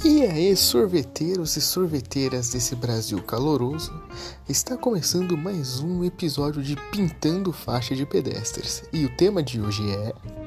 E aí, sorveteiros e sorveteiras desse Brasil caloroso, está começando mais um episódio de Pintando Faixa de Pedestres. E o tema de hoje é...